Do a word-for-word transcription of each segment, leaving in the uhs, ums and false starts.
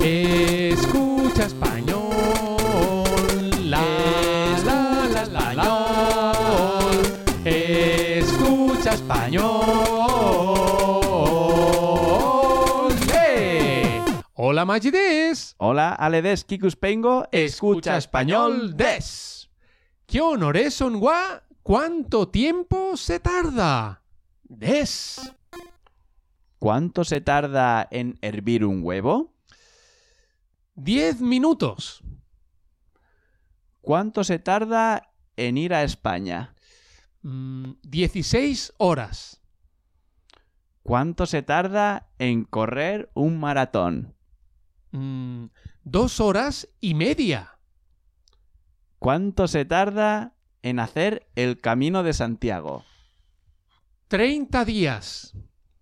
Escucha español. La, la, la, la, la. Escucha español. ¡Hey! Hola, Maggi des. Hola, Ale des, Kikuspengo, Escucha español des. ¿Qué honores son gua? ¿Cuánto tiempo se tarda? Des. ¿Cuánto se tarda en hervir un huevo? Diez minutos. ¿Cuánto se tarda en ir a España? Mm, dieciséis horas. ¿Cuánto se tarda en correr un maratón? Mm, dos horas y media. ¿Cuánto se tarda en hacer el Camino de Santiago? Treinta días.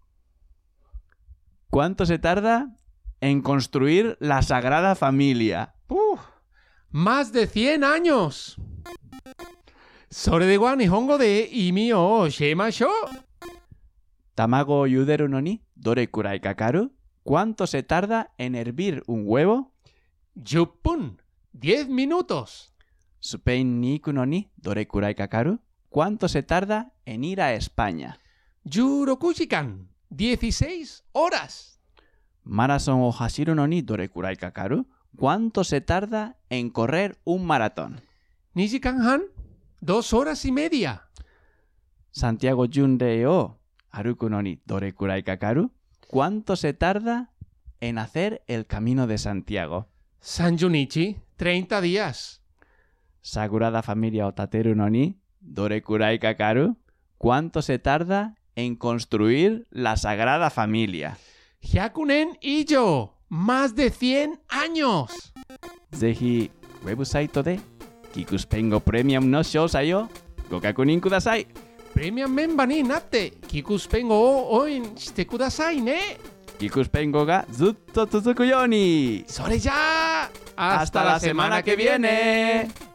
¿Cuánto se tarda en construir la Sagrada Familia? ¡Uf! Más de cien años. Sore de wa nihongo de imi o oshemashou. Tamago o yuderu no ni dore kurai kakaru? ¿Cuánto se tarda en hervir un huevo? Yuppun. Diez minutos. Supein ni iku no ni dore kurai kakaru? ¿Cuánto se tarda en ir a España? Yuroku jikan. Dieciséis horas. Maratón o hashiru no ni dore kurai kakaru? ¿Cuánto se tarda en correr un maratón? Nijikan han. Dos horas y media. Santiago Junrei o aruku no ni dore kurai kakaru? ¿Cuánto se tarda en hacer el Camino de Santiago? Sanjunichi. Treinta días. Sagrada Familia o tateru no ni dore kurai kakaru? ¿Cuánto se tarda en construir la Sagrada Familia? Hyakunen ijo. Más de cien años. Zehi, website de Kikuspengo Premium no shousai oご確認ください。 プレミアムメンバーになってキクスペンゴを応援してくださいね。 Kikuspengoがずっと続くように。 それじゃあ、 Hasta la semana que viene.